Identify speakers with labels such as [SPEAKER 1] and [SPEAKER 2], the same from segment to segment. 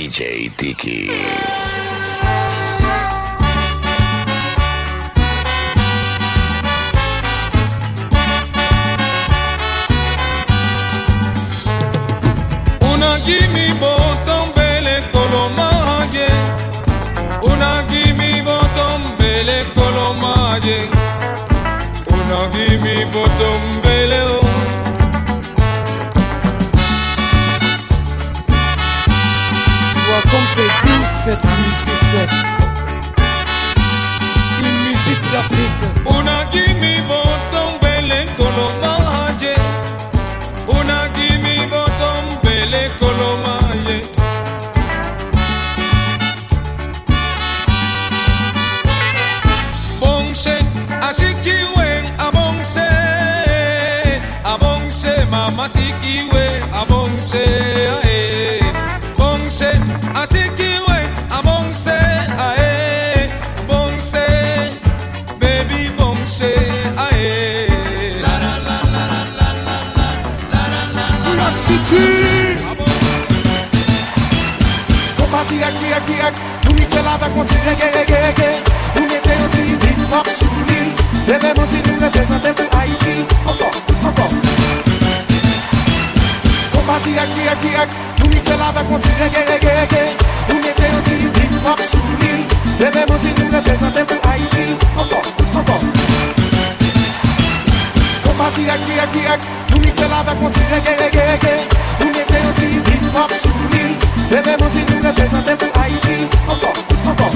[SPEAKER 1] DJ Tiki.
[SPEAKER 2] Una gimme bottom bele colomaje. Una gimme bottom bele colomaje. Una gimme bottom bele oh.
[SPEAKER 3] Comme c'est douce cette musique, une musique d'Afrique.
[SPEAKER 2] Una gimme bottom bele colomaje. Una gimme bottom bele colomaje. Bonse asikiwe abonse. Abonse mama sikiwe abonse ae. Bonse asikiwe abonse ae. Bonse baby bonse ae. La la la la la la la la la la la.
[SPEAKER 3] City. Compa direct, nous mixons la vague, on tire reggae. Nous mettons un petit hip-hop sous lui. Les mêmes aussi nous représentons pour Haïti. Encore. Compa direct, nous mixons la vague, on tire reggae. Nous mettons un petit hip-hop sous lui. Les mêmes aussi nous représentons pour Haïti. Encore. Compa direct, nous mixons la vague, on tire reggae. Nous mettons un petit hip-hop sous lui. Les mêmes aussi nous représentons pour Haïti. Encore.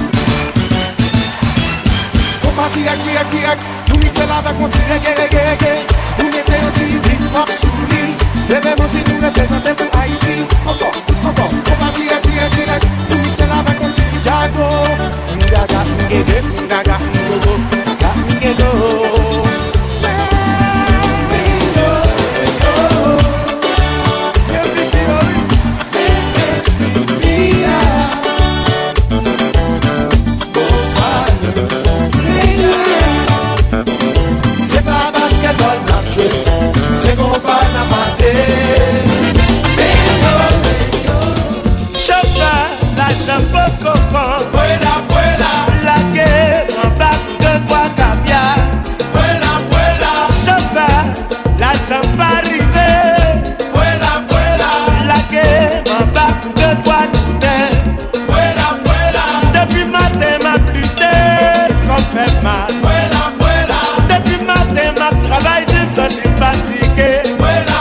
[SPEAKER 3] Compa direct, nous mixons la vague, on tire reggae. Nous mettons un petit hip-hop sous lui. Les mêmes aussi nous représentons pour Haïti. Encore. Compa direct, nous mixons la vague, on tire Jago. Ngaga, ngogo, ngego.
[SPEAKER 4] C'est qu'on va la mater. Chauffeur, la jambe coco. Puela. La guerre, en bas de bois cavias. Puela. Chauffeur, la jambe arrivée. Puela. La guerre, en bas de bois d'hiver. Puela. Depuis matin, ma plutée, qu'on fait mal. Depuis matin, ma travail, je suis fatigué. Puela.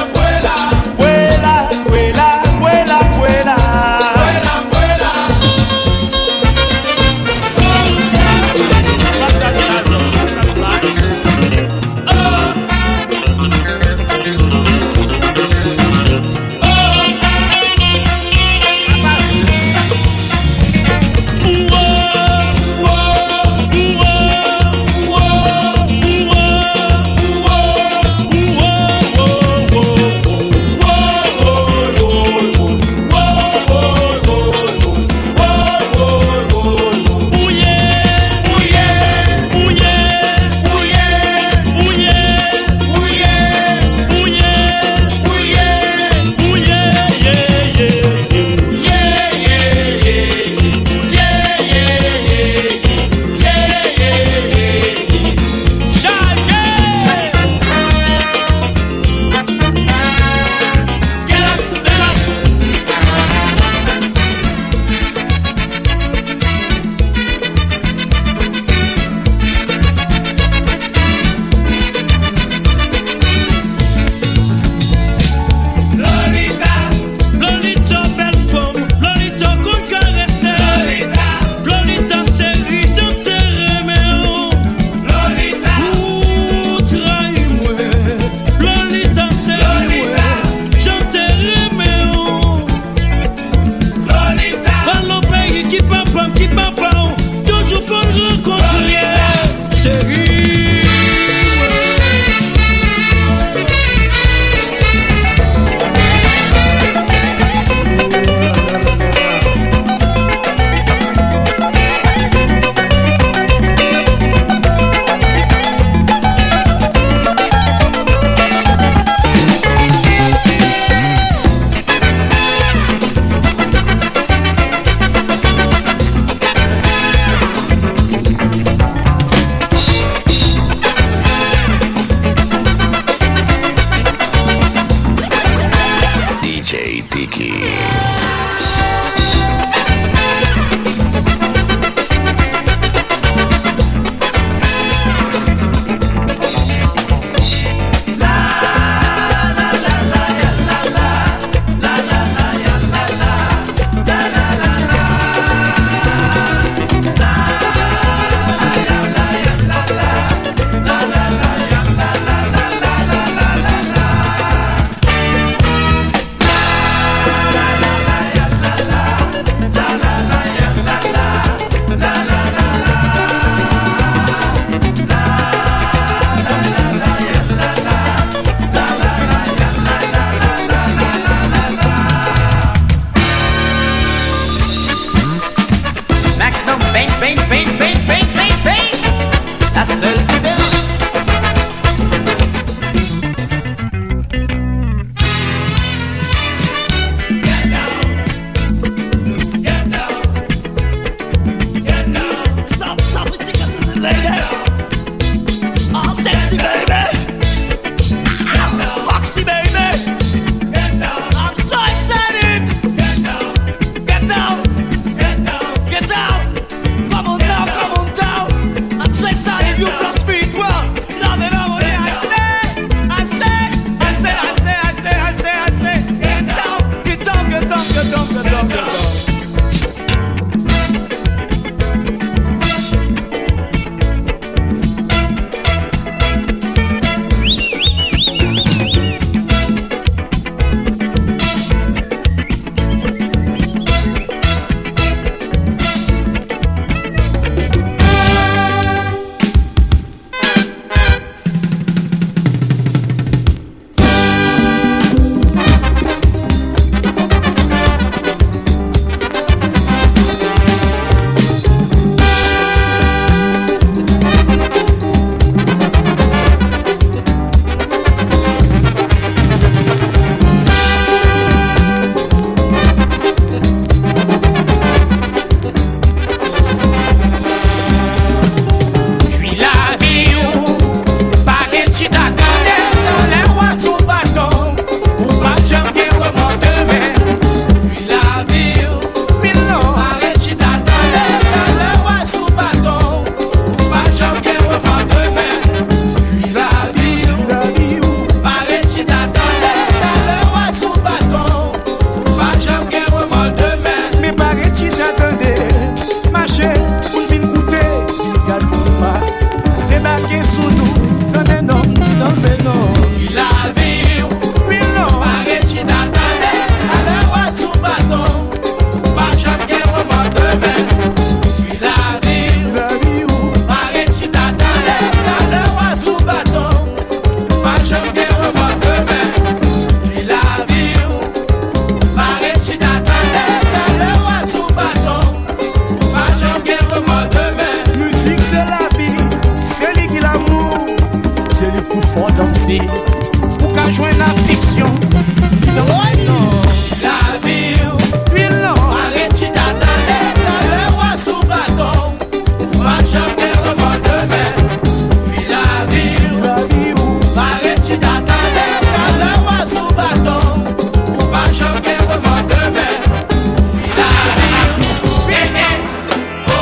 [SPEAKER 4] danser. Pour qu'à joindre la fiction, tu danses non.
[SPEAKER 1] La vie,
[SPEAKER 4] Oui non.
[SPEAKER 1] arrête tu t'attendais, dans le roi sous bâton, va jamais reprendre demain. Puis la vie, arrête tu t'attendais, dans le roi sous bâton, va jamais reprendre demain. Puis la vie, oh,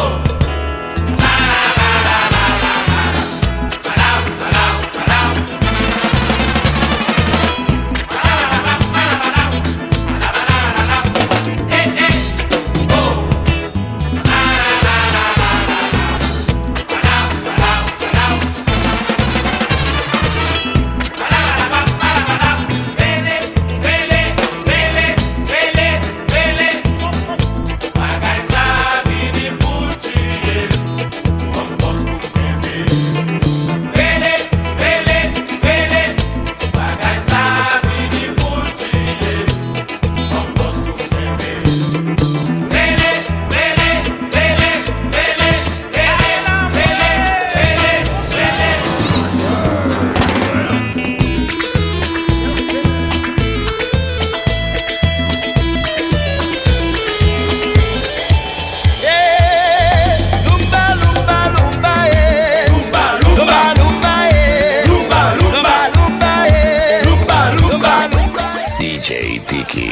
[SPEAKER 5] DJ Tiki.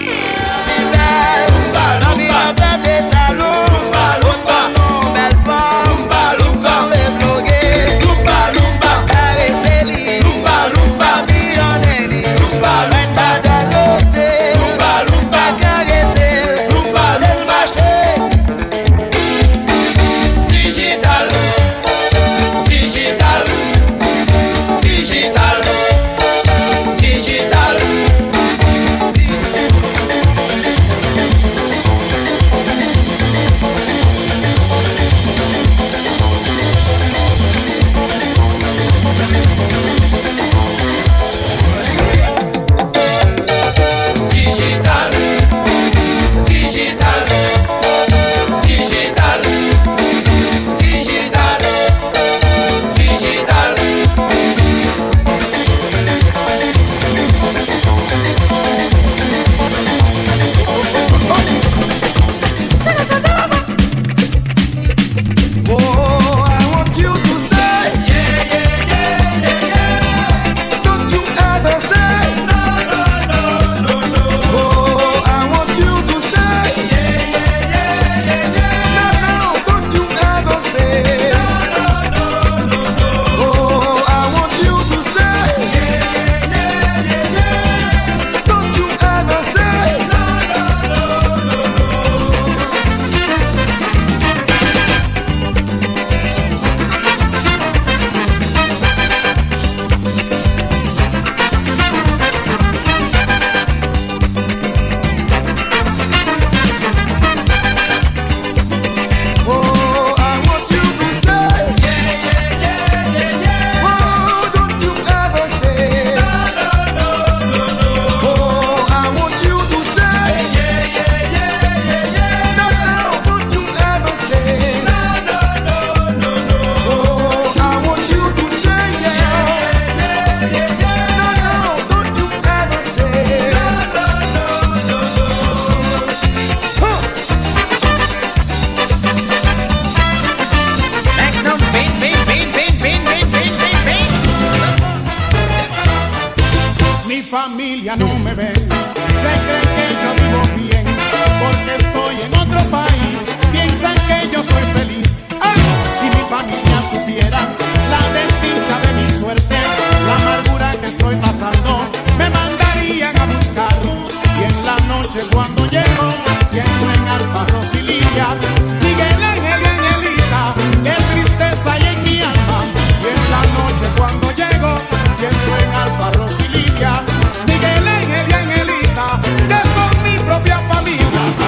[SPEAKER 6] familia no me ven, se creen que yo vivo bien, porque estoy en otro país, piensan que yo soy feliz. ¡Ay! Si mi familia supiera la dentita de mi suerte, la amargura que estoy pasando, me mandarían a buscar. Y en la noche cuando llego, pienso en Alfa, Rosy, Lidia, Miguel Ángel y Angelita, qué tristeza hay en mi alma. Y en la noche cuando llego, pienso en Alfa, Rosy, Lidia, Miguel Ángel y Angelita, que son mi propia familia.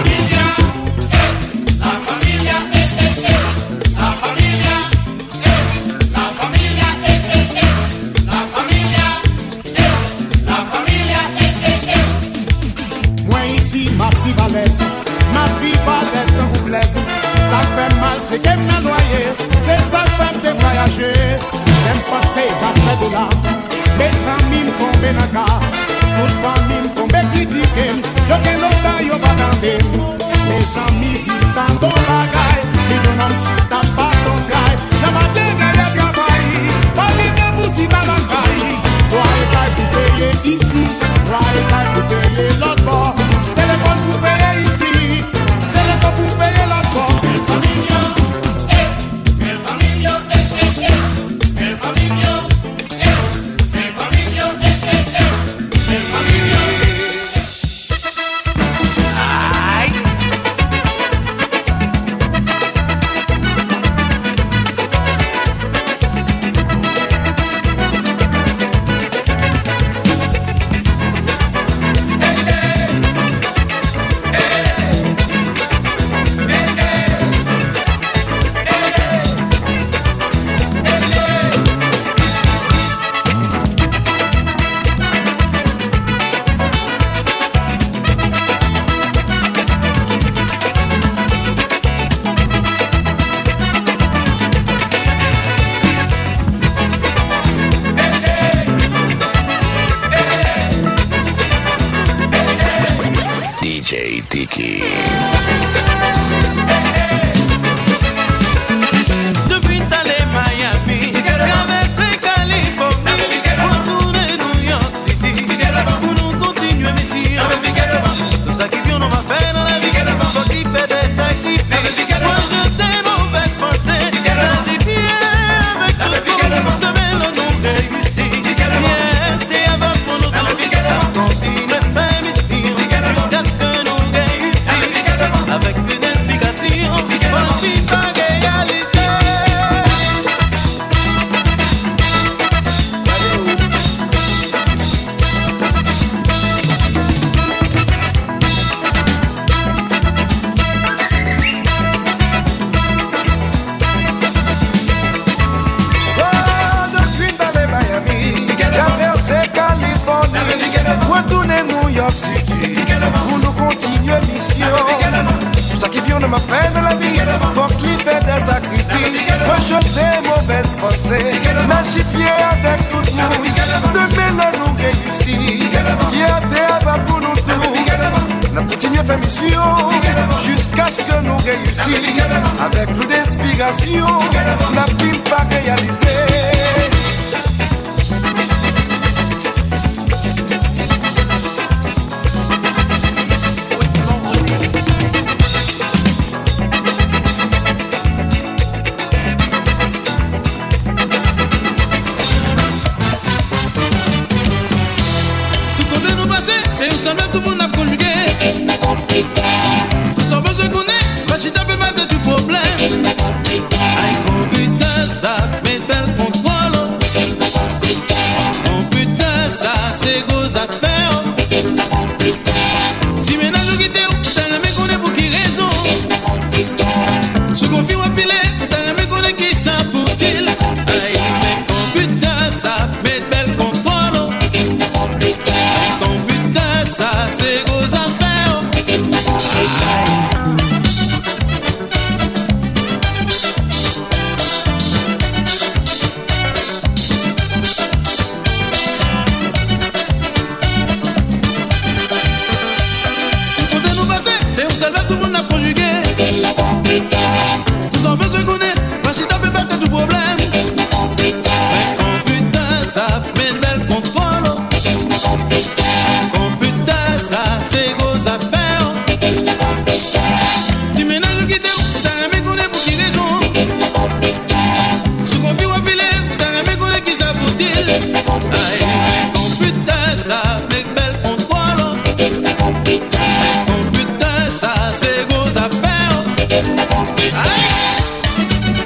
[SPEAKER 1] La familia, la familia, la familia, la familia, la familia,
[SPEAKER 6] Moi ici, ma vie valait de roublesse. Ça fait mal, c'est qu'elle m'a noyé, c'est ça fait de voyager. J'aime passer après de là, mais ça ven acá. Pour famille tombe critiquer, yo que no está yo pa cambiar. Mes amis gritando bagay, mi donam chita pa son gay. La matinée ya travail, pas de boutique à l'encaille. Toi et taille pour payer ici, toi et taille pour payer l'autre bord. Téléphone pour payer ici, téléphone pour payer l'autre bord.
[SPEAKER 5] DJ Tiki.
[SPEAKER 7] Depuis d'aller Miami, traverser Californie, retourner New York City, pour nous continuer mission. Tout ça qui vient, on va faire dans la vie, faut qu'il fait des sacrifices. Moi je t'ai mauvais pensée, la défier avec tout le monde, demain le nous réussit. Hier, t'es avant pour nous tous, continuer faire mission. Avec plus d'explications, on ne vit pas réaliser.
[SPEAKER 3] Oh, depuis d'aller Miami, traverser Californie, retourner New York City, pour nous continuer mission. Tout ça qui vient de ma fin de la vie, faut qu'il fait des sacrifices. Moi je fais mauvaise pensée, mais j'y viens avec tout le monde. Demain nous réussit, fierté avant pour nous tous. On continue à faire mission, jusqu'à ce que nous réussissions. Avec plus d'inspiration, on n'a plus pas réalisé.
[SPEAKER 7] C'est un seul tout le monde a conjugué. Tout sans besoin qu'on est, machine à peu mettre du problème. Aïe, computer, ça met belle contrôle. Computer, ça c'est gros affaires. Si ménage ou guité, t'as jamais qu'on est pour qui raison. Ce qu'on fait ou à filer, t'as jamais qu'on est qui ça pour qu'il. Aïe, computer, ça met belle contrôle. Ça c'est gros affaires. Tout nous passer, c'est un seul tout le monde a conjugué. Tous en besoin qu'on est, machine à peut battre tout problème. Computer, ça met une belle contrôle. Ça c'est gros affaires. Si ménage nous quitte, t'as jamais qu'on est pour qui raison. Ce qu'on fait ou à filer, t'as jamais qu'on est qui ça pour dire. Aïe, computer, ça make belle contrôle. Computer, ça c'est gros affaires. Aïe.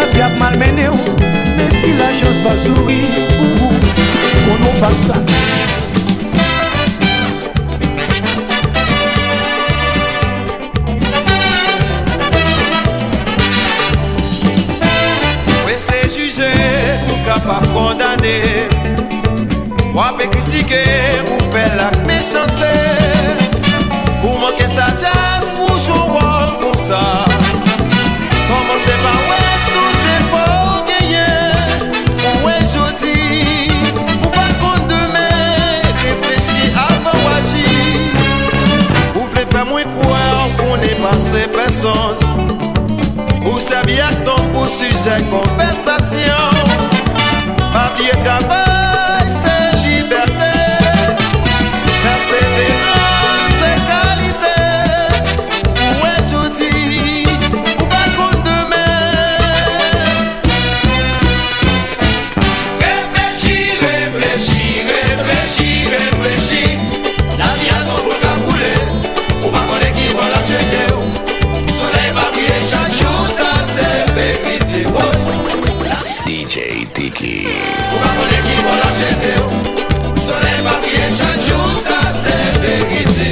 [SPEAKER 8] puis à malmener. Mais si la chance pas sourire, on nous parle ça.
[SPEAKER 9] Oui, c'est jugé, ou capable condamner. Ou peut critiquer, ou faire la méchanceté. Ou manquer sagesse, pour jouer un rôle comme ça. Commencez par ouais, tout est beau gagner. Ouais, jodi, ou pas compte demain. Réfléchis avant d'agir. Ou voulez faire moins croire qu'on n'est pas ces personnes. Ou c'est bien ton pour sujet conversation. Papier travail, c'est liberté. Persévérance, c'est qualité. Où est jodi, ou pas compte demain. Réfléchis, réfléchis, réfléchis, réfléchis. La vie a son bout à couler. Ou pas qu'on est qui va la jeter. Soleil va briller chaque jour, ça c'est vérité.
[SPEAKER 5] DJ Tiki.
[SPEAKER 9] Ou pas qu'on est qui va la jeter. Soleil va briller chaque jour, ça c'est vérité.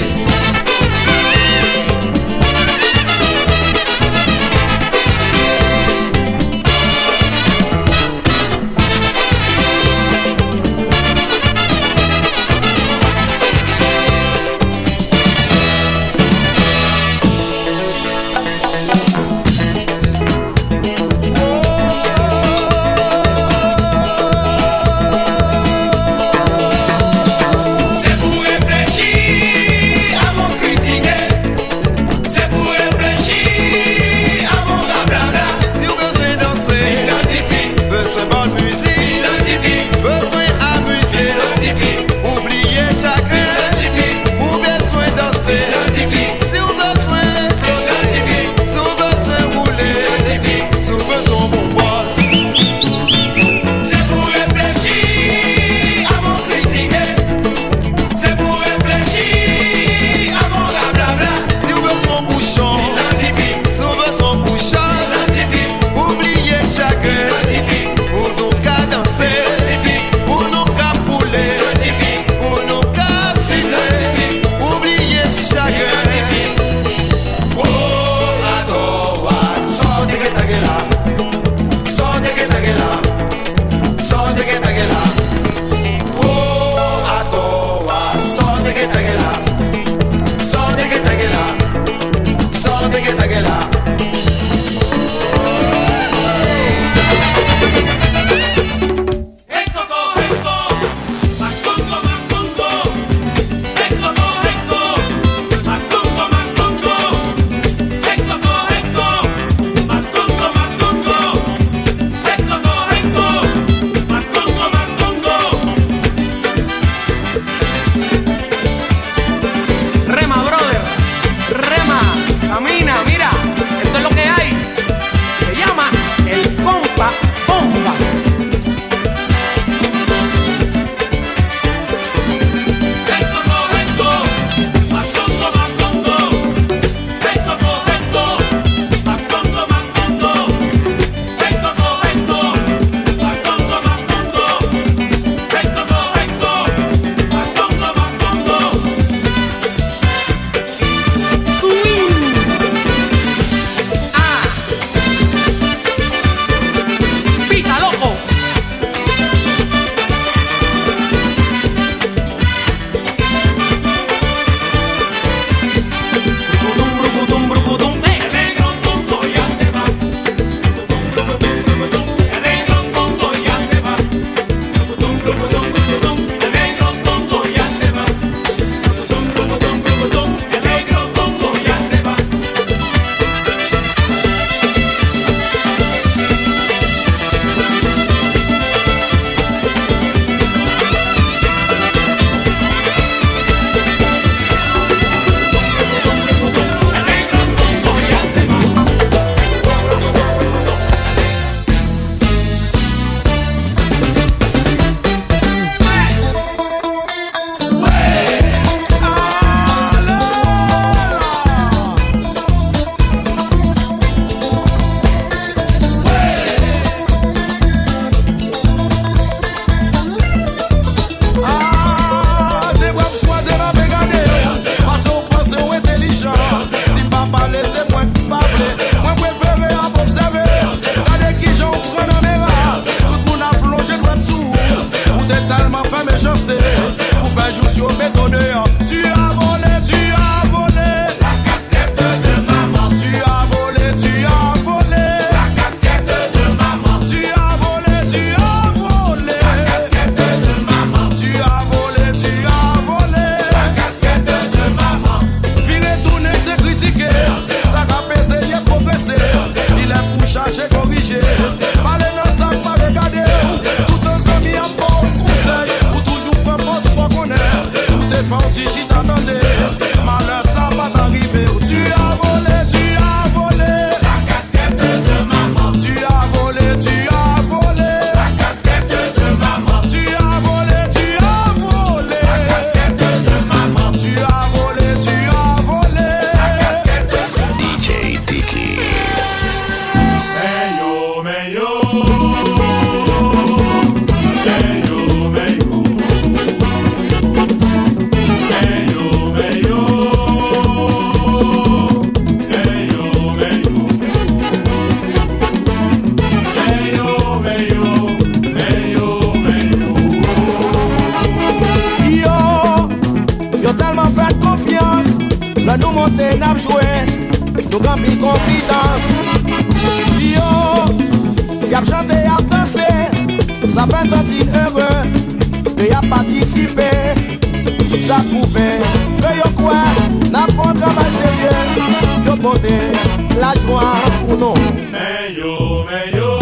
[SPEAKER 10] Ça fait sentir heureux de y a participé. Ça pouvait que yo quoi, n'a pas un travail sérieux. Yo porter la joie ou non.
[SPEAKER 1] Mais yo, mais yo.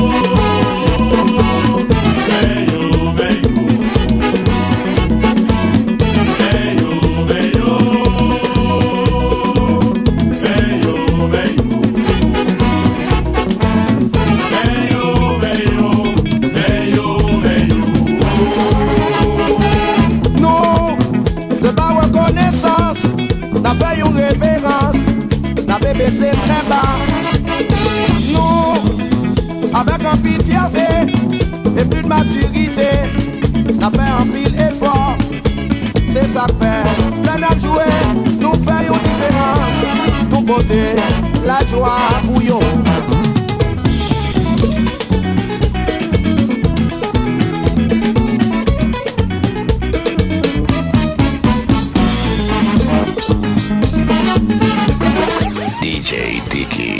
[SPEAKER 10] Baisser très bas. Nous, avec un pile de fierté et plus de maturité, n'a fait un pile effort. C'est ça que fait, plein à jouer, nous faisons différence. Nous porter la joie bouillon.
[SPEAKER 5] DJ Tiki.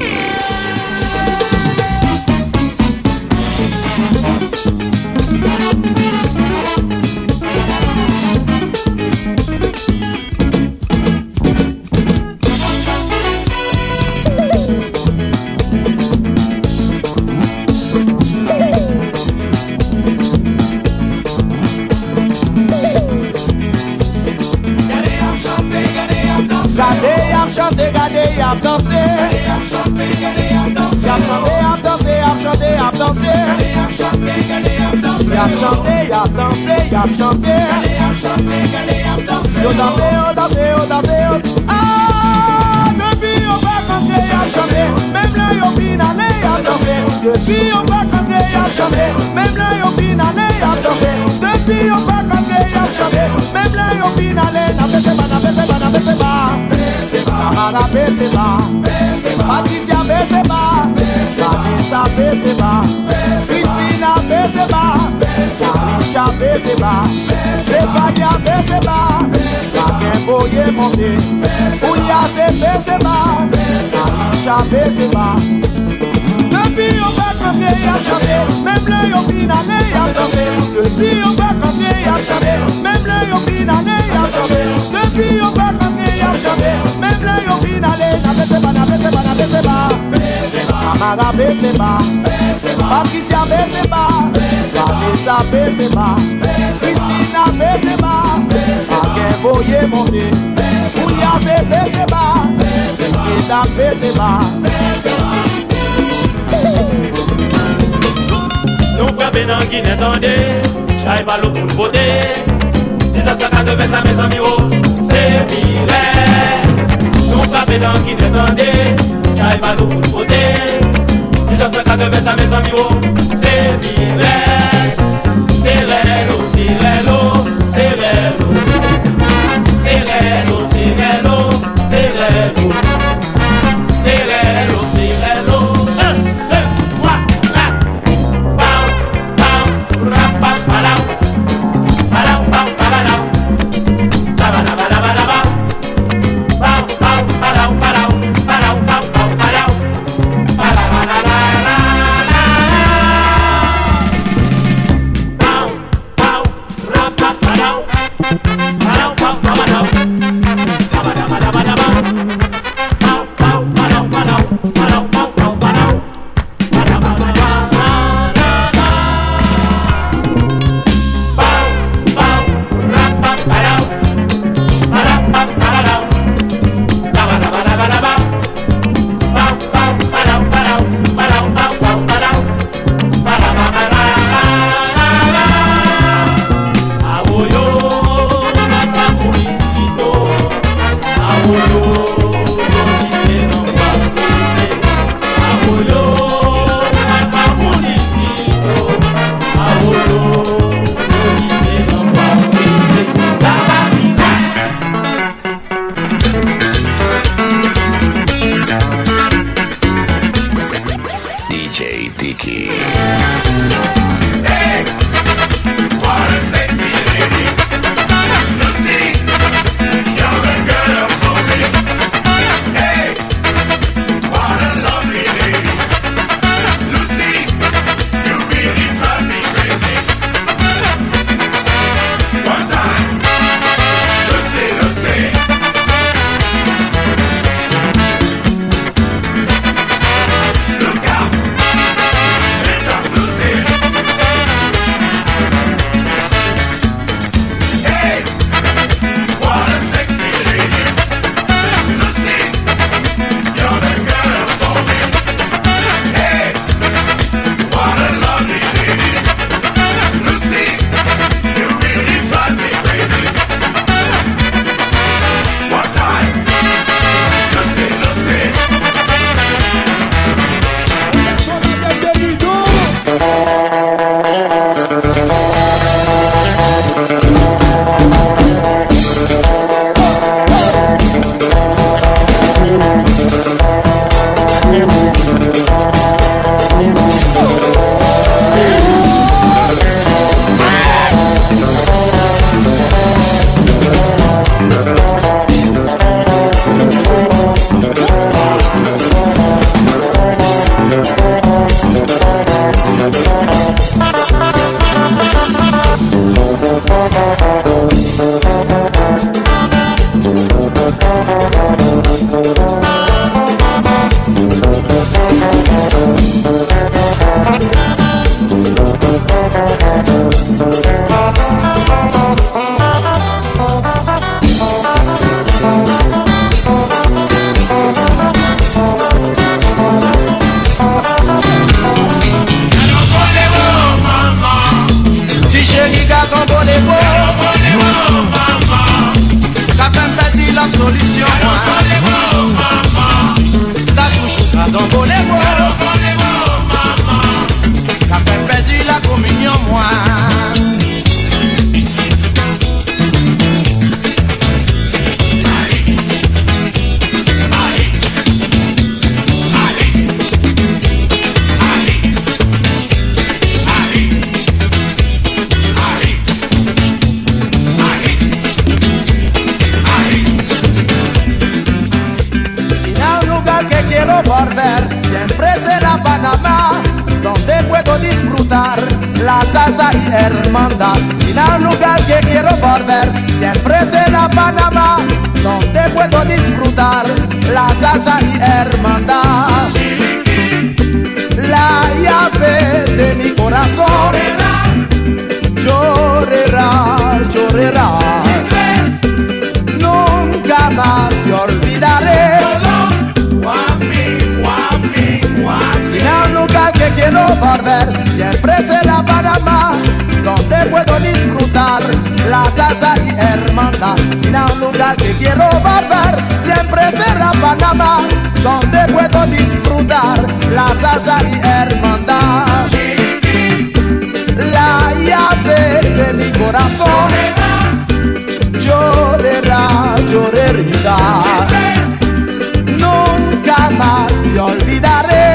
[SPEAKER 10] Gardez, à danser.
[SPEAKER 1] Gardez, à chanter, gardez, à danser.
[SPEAKER 10] À danser, à chanter, à danser.
[SPEAKER 1] Gardez, à chanter, gardez, à danser.
[SPEAKER 10] À chanter, à danser, à chanter.
[SPEAKER 1] Gardez, à chanter, gardez, à danser.
[SPEAKER 10] Yo danser, yo danser, yo danser. Ah, depuis on va canter, à chanter. Même là yo finale, à danser. Depuis on va canter, à chanter. Même là yo finale, à danser. Depuis on va canter, à chanter. Même là yo finale, na baisse pas, na baisse pas, na baisse pas. Amara baisse pas, Patricia baisse pas, Samisa baisse pas, Christina baisse pas, Salisha baisse pas, Stéphania baisse pas, Sakin Boye monté, Ouya se baisse pas, Salisha baisse pas. Depuis on va canter et à chanter, même là yo finale à danser. Depuis on va canter et à chanter, même là yo finale à danser. Depuis on va canter et à chanter, même là yo finale. Na baisse pas, na baisse pas, na baisse pas. Amara baisse pas, Patricia baisse pas, Samisa baisse pas, Christina baisse pas, Sakin Boye monté, Ouya se baisse pas, Stéphania baisse pas.
[SPEAKER 11] Nous frappons dans Guinée, attendez, j'aille pas l'eau pour le voter. 1980, ça mes amis, c'est Miret. Nous frappons dans Guinée, attendez, j'aille pas l'eau pour le voter. 1980, ça mes amis, c'est Miret. C'est Rélo, c'est Rélo, c'est Rélo. C'est Rélo, c'est Rélo, c'est Rélo. C'est Rélo, c'est Rélo.
[SPEAKER 1] Crazy.
[SPEAKER 10] La salsa y hermandad. Si hay un lugar que quiero volver, siempre será Panamá, donde puedo disfrutar la salsa y hermandad. La llave de mi corazón llorará, llorará. Nunca más te olvidaré. Si hay un lugar que quiero volver, siempre será Panamá, donde puedo disfrutar la salsa y hermandad. Si hay un lugar que quiero volver, siempre será Panamá, donde puedo disfrutar la salsa y hermandad. La llave de mi corazón llorará, llorará. Nunca más te olvidaré.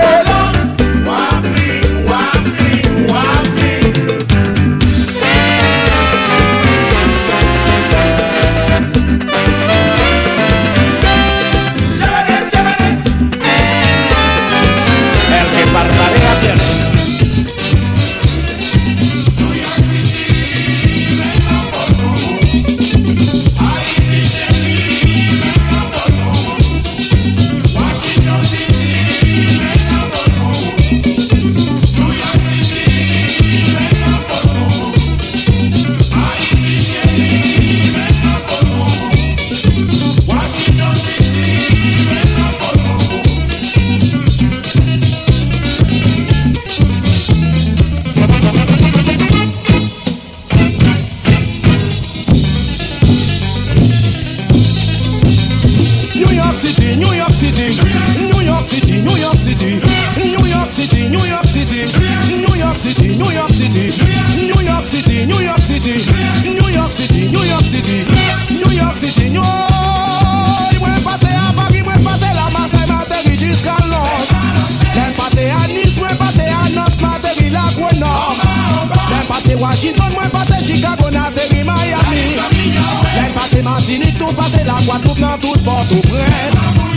[SPEAKER 12] Washington, moi passe Chicago, n'atterri Miami. L'année passée Martinique, tout passé la Guadeloupe, dans toute Port-au-Prince.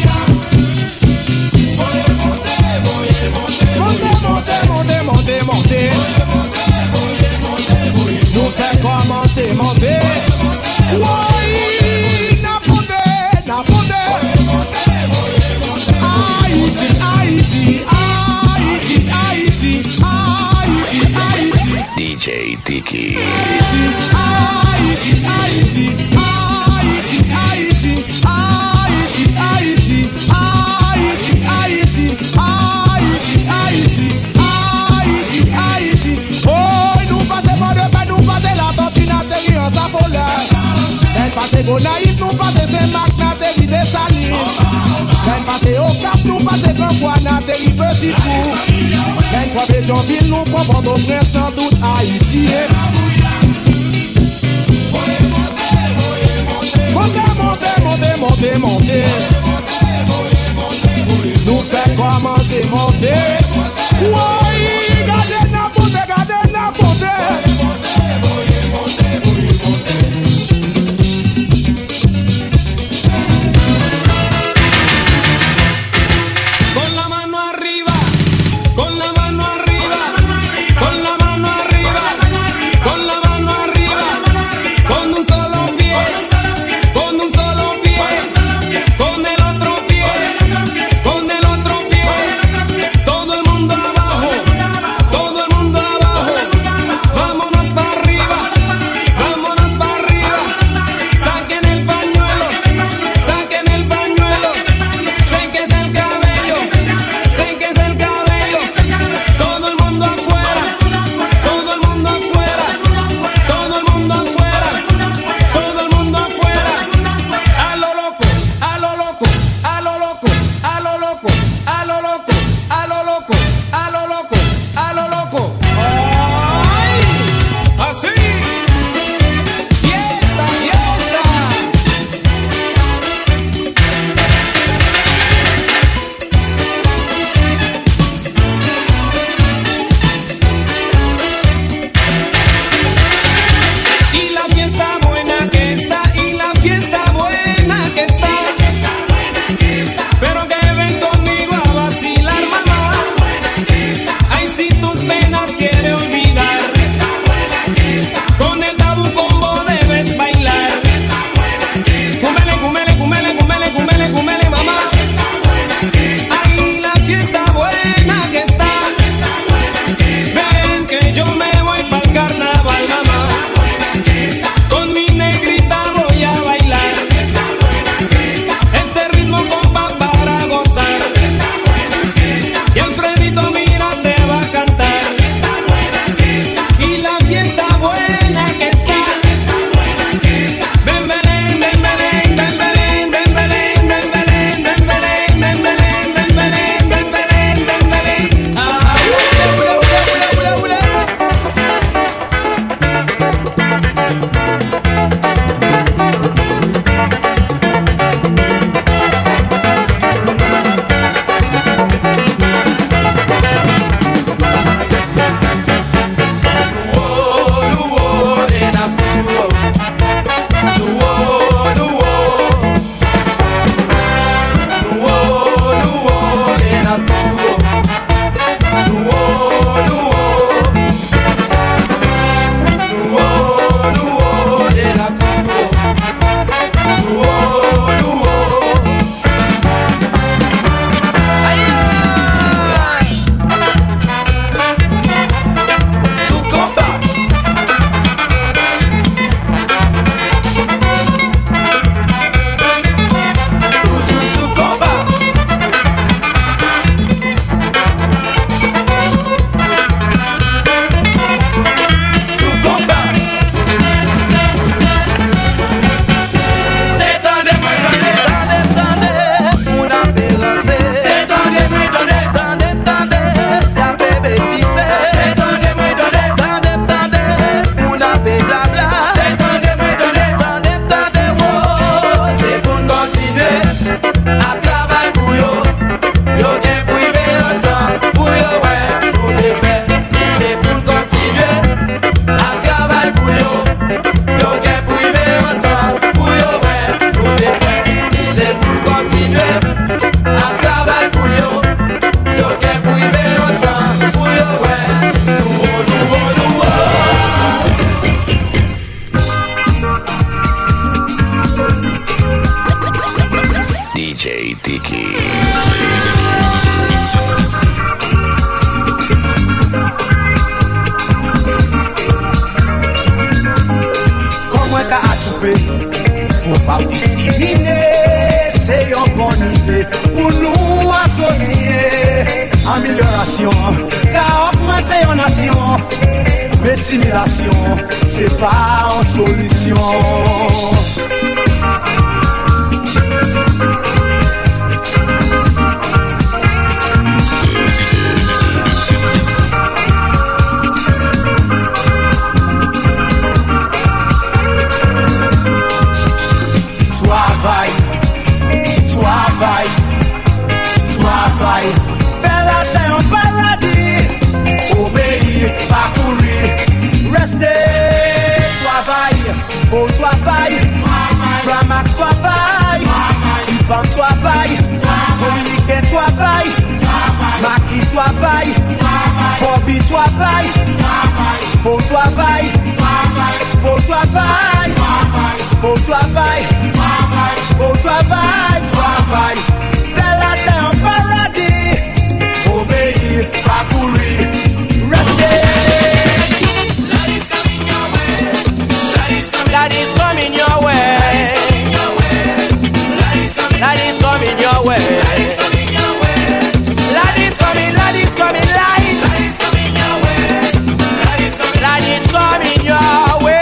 [SPEAKER 12] Montez. Nous fait commencer monter. Oui, n'a monté. Haïti.
[SPEAKER 5] DJ Tiki.
[SPEAKER 12] Passé Gonaïve, nous passé Saint-Marc, n'atterri des Salines. L'année passée au Cap, nous passé Grand-Bois, n'atterri Petit Trou. L'année fois Pétionville, nous prenons Port-au-Prince dans toute Haïti. Montez. Nous fait commencer monter. Ouais.
[SPEAKER 10] pour nous associer. Amélioration, car augmenter en nation. Mais simulation, c'est pas en solution. Travail, faire la terre en paradis, obéir, parcourir, rester, travail, au travail, Ramax travail, Ipan travail, Dominicain travail, Maki travail, Bobby travail, au travail, au travail, au travail, au travail, travail. Faire en paradis, obéir, parcourir, rester. That is coming your way. That is coming your way. That is coming, that is coming, light. That is coming your way.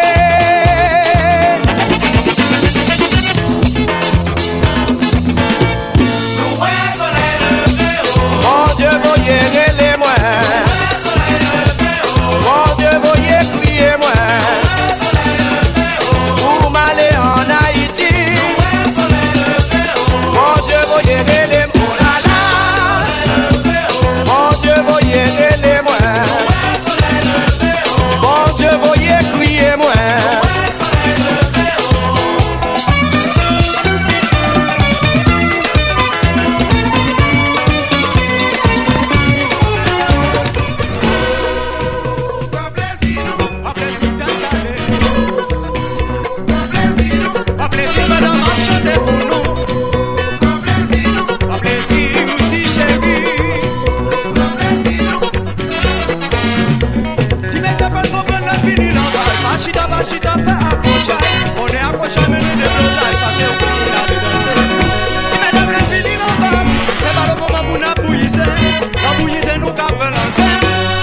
[SPEAKER 13] Chita fait accrocher, on est accroché mais nous développons, chercher au pays là de danser. Si mesdames les filles n'en pas, c'est pas le moment pour nous bouillir, la bouillir nous qu'à relancer.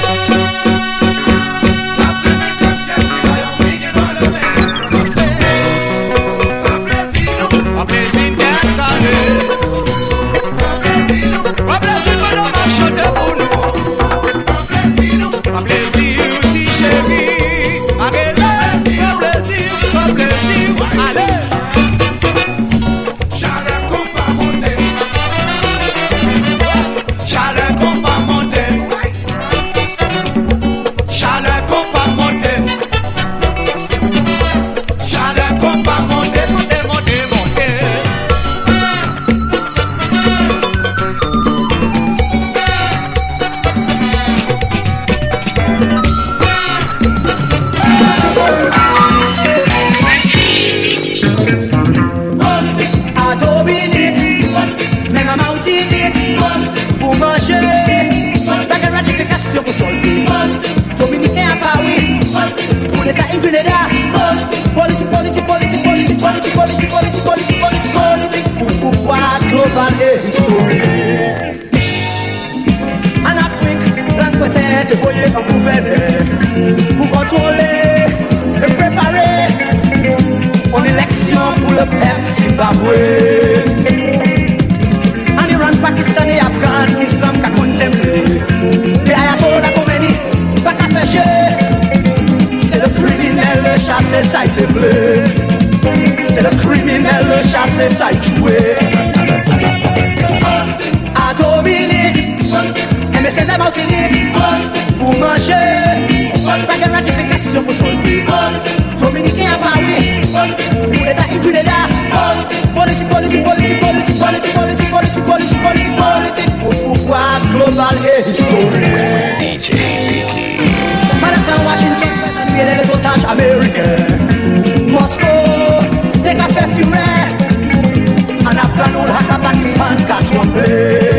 [SPEAKER 13] La prévention c'est si va y'en piquer dans le pays, c'est pas plaisir d'être allé. Pas plaisir de nous marcher pour nous. Pas plaisir si chérie.
[SPEAKER 10] Global historique. En Afrique, l'Angleterre te voyait en gouverneur pour contrôler et préparer une élection pour le peuple Zimbabwe. En Iran, Pakistan et Afghan, Islam qu'a contemplé. Et Ayatollah Khomeini, pas qu'à faire jeu. C'est le criminel, le chassé, ça a été bleu. C'est le criminel, le chassé, ça a tué. À Dominique, mais c'est à Martinique, pour manger, pas de ratification pour solder. Dominique et à Paris, pour l'État impuné là. Politique, politique, politique, politique, politique, politique, politique, politique, politique, politique, pour pouvoir global et historique. Manhattan, Washington, les otages américains. Moscou, c'est qu'à faire fumer. En Afghan, on a Pakistan qu'a trompé.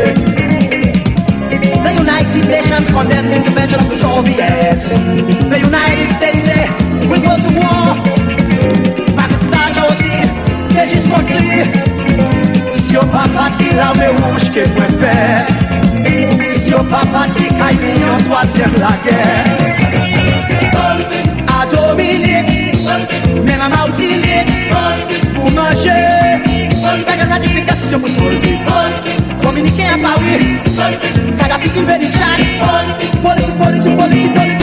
[SPEAKER 10] The United Nations condemned the intervention of the Soviets. The United States say we'll go to war. Magda Josie, Dégis Contli. Si on va partir l'armée, Haïti en troisième la guerre. À Dominique, même à Martinique, pour manger, pas de gratification pour solder. Dominicain à Paris, Kadhafi qui veut du Tchad. Politique.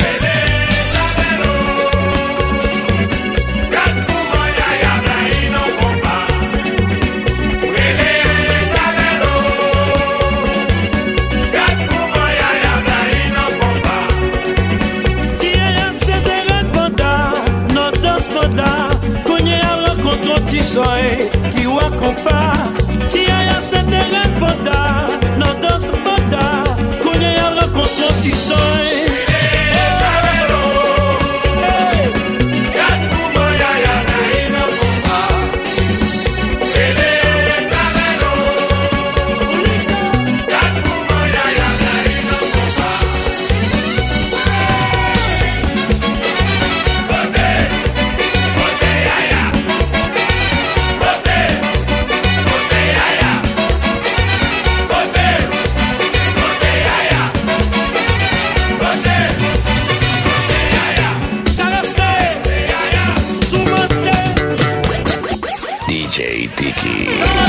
[SPEAKER 4] Qui wa compa tia ya setera boda no dos boda kunye ya rencontre ti soy
[SPEAKER 5] DJ Tiki.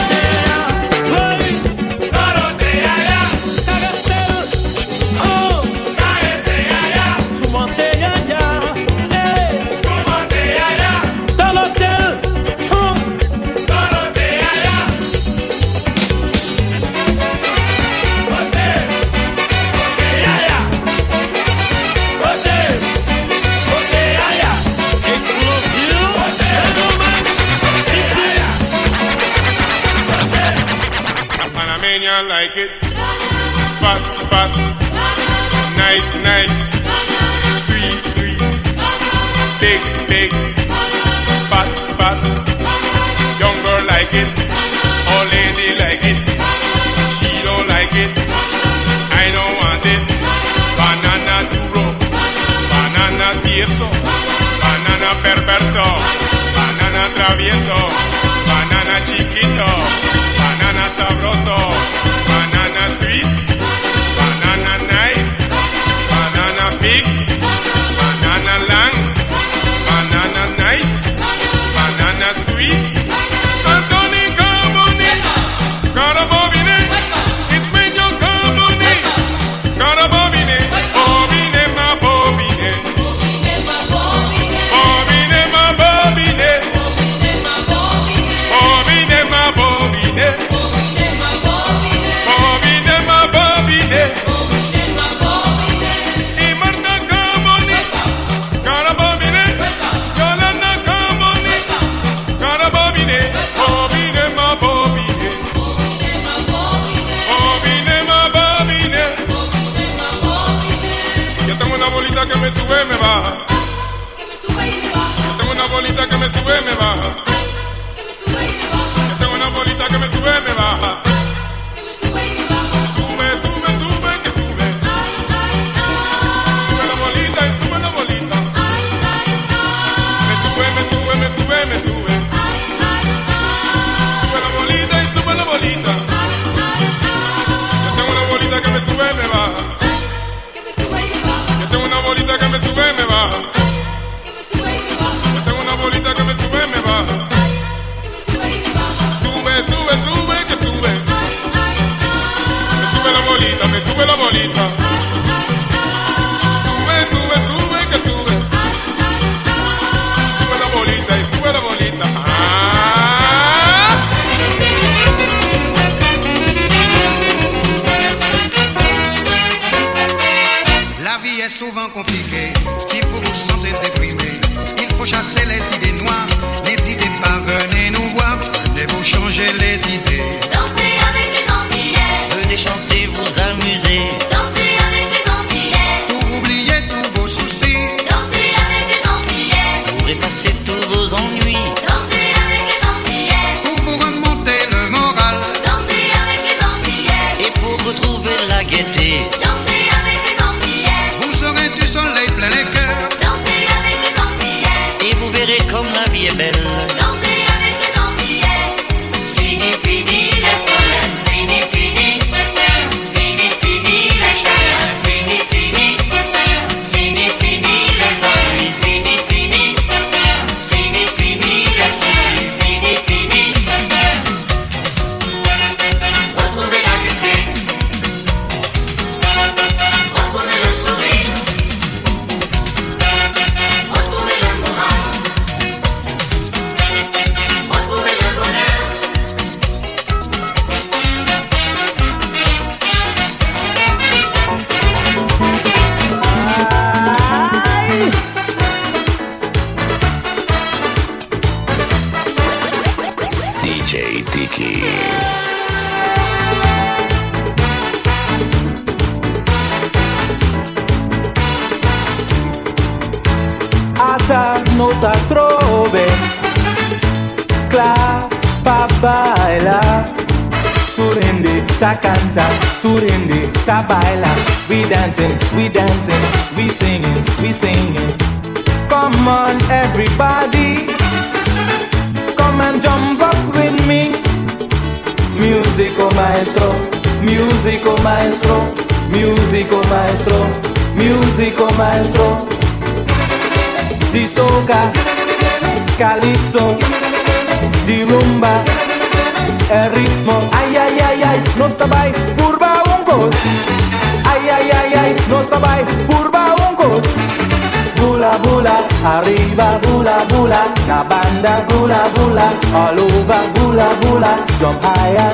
[SPEAKER 14] Like it, fat, nice, sweet, big, fat, young girl like it, old lady like it, she don't like it, I don't want it, banana duro, banana tieso, banana perverso, banana travieso, banana chiquito, banana sabroso, banana sweet, banana nice, banana big, banana long, banana nice, banana sweet. Cantoni Carboni, Carabobine, it's when you Carboni, Carabobine, Bobine ma Bobine, Bobine ma Bobine, Bobine ma Bobine, Bobine ma Bobine. Que me sube, me baja. Que me sube y me baja. Yo tengo una bolita que me sube, me baja. Que me sube y me baja. Yo tengo una bolita que me sube, me baja. Que me sube y me baja. Sube, que sube. Sube la bolita y sube la bolita. Me sube. Sube la bolita y sube la bolita. Yo tengo una bolita que me sube, me baja. Bolita que me sube, me baja. Que me sube y me baja. Yo tengo una bolita que me sube, me baja. Que me sube y me baja. Sube, que sube. Me sube la bolita, me sube la bolita. Sube, que sube. Sube la bolita y sube la bolita.
[SPEAKER 15] La vie est souvent compliquée. Si vous vous sentez déprimé, il faut chasser les idées noires. N'hésitez pas, venez nous voir. Venez vous changer les idées.
[SPEAKER 16] Dansez avec les Antillais.
[SPEAKER 17] Venez chanter, vous amuser.
[SPEAKER 16] Dansez avec les Antillais.
[SPEAKER 15] Pour oublier tous vos soucis.
[SPEAKER 16] Dansez avec les Antillais.
[SPEAKER 17] Pour effacer tous vos ennuis.
[SPEAKER 16] Dansez avec les Antillais.
[SPEAKER 15] Pour vous remonter le moral.
[SPEAKER 16] Dansez avec les Antillais.
[SPEAKER 17] Et pour retrouver la gaieté.
[SPEAKER 16] Dansez avec les Antillais.
[SPEAKER 15] Vous serez du soleil plein les cœurs.
[SPEAKER 16] Dansez avec les Antillais.
[SPEAKER 17] Et vous verrez comme la vie est belle.
[SPEAKER 16] Dansez avec les Antillais. Fini les problèmes. Fini les chagrins.
[SPEAKER 18] canta nos atrove. Clap, pa baila. Turinde, ta canta, turinde, ta baila. We dancing, we singing. Come on everybody, come and jump up with me. Musico maestro, musico maestro, musico maestro, musico maestro. Di soca, calypso, di rumba, el ritmo. Ay, ay, ay, ay, no está by purba uncos. Ay, ay, ay, ay, no está by purba uncos. Bula, bula, arriba, bula, bula. La banda, bula, bula. All over, bula, bula. Jump higher.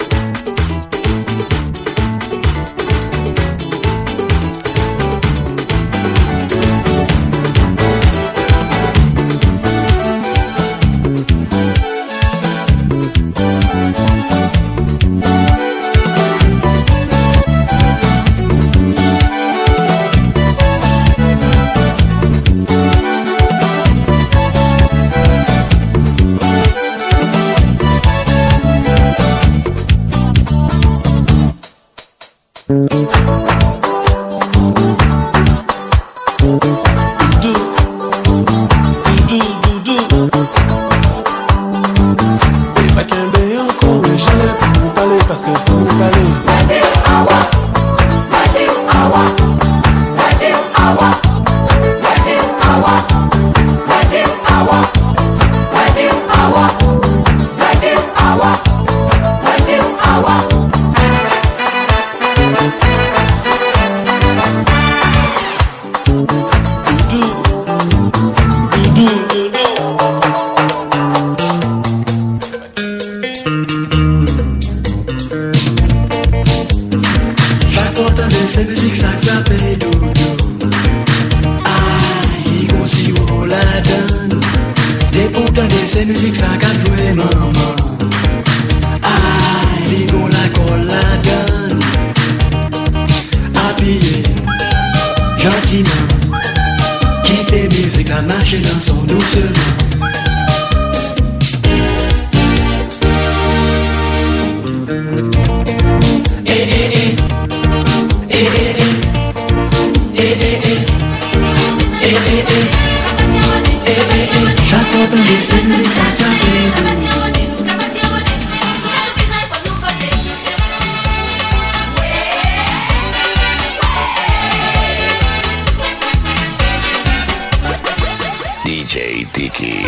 [SPEAKER 5] DJ Tiki.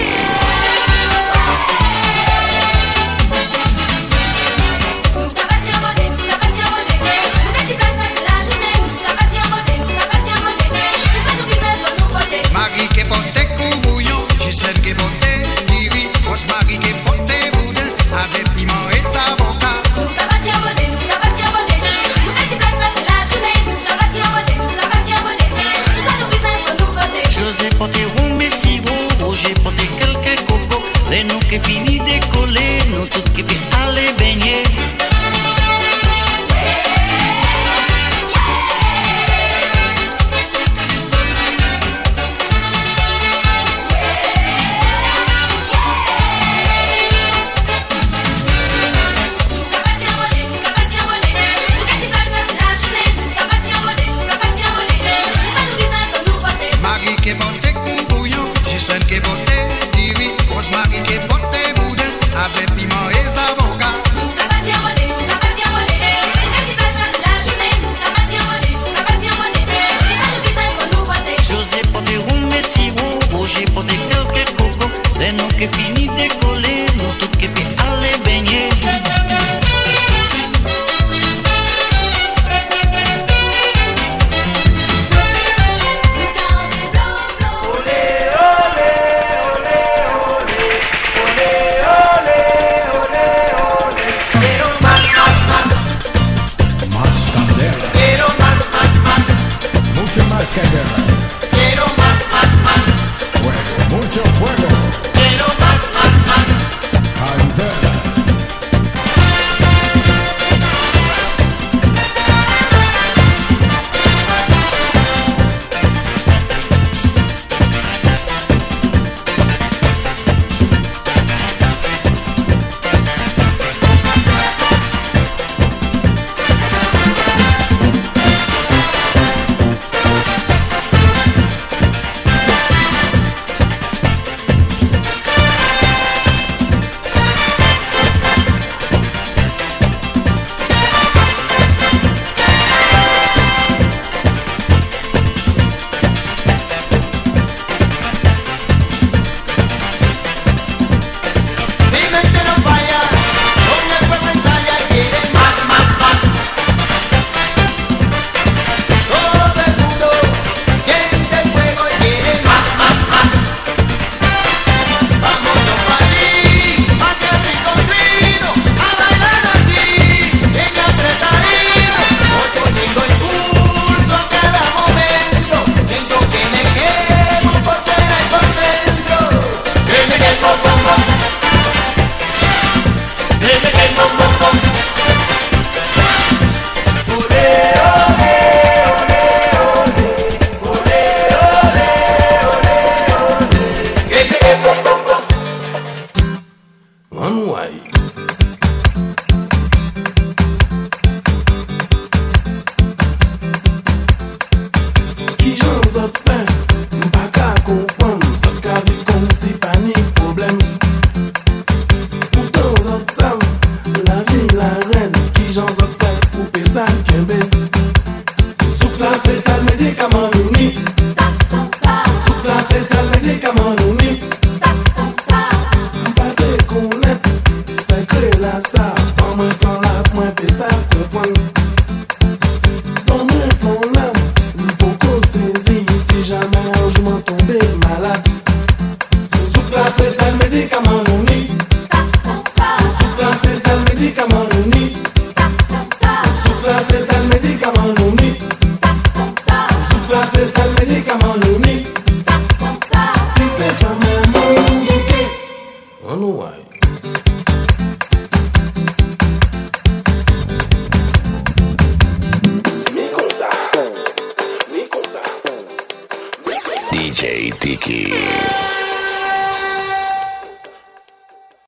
[SPEAKER 15] Marie qui portait coubouillon, Ghislaine qui portait Kiri, Rosemary qui portait boudin, avec piment et avocat.
[SPEAKER 17] José porté rum et citron, Roger porté quelques cocos. Les nous qui finit d'écoller, nous toutes qui puis aller baigner.
[SPEAKER 15] Marie qui portait coubouillon, Ghislaine qui portait Kiri, Rosemary qui portait boudin, avec piment et avocat.
[SPEAKER 17] José porté rum et citron, Roger porté quelques cocos. Les nous qui finit d'écoller, nous toutes qui puis aller baigner.
[SPEAKER 19] Qui j'en zot fait, m'pas qu'à comprendre. Zot qu'à vivre comme si pas ni problème. Pourtant zot savent, la vie la reine. Qui j'en zot fait, couper ça kembe. Souple là c'est ça le médicament nous ni. Souple là c'est ça le médicament nous ni. M'pas te connaître, c'est que là ça. En me plan là, moi pé ça comprendre. Dans mes plans là, m'poko saisi. Si jamais un jour m'en tomber malade. Souple là c'est ça le médicament nous ni. Souple là c'est ça le médicament nous ni. Souple là c'est ça le médicament nous ni. Souple là c'est ça le médicament nous ni. Si c'est ça même on nous souke, on nous aille.
[SPEAKER 5] DJ Tiki.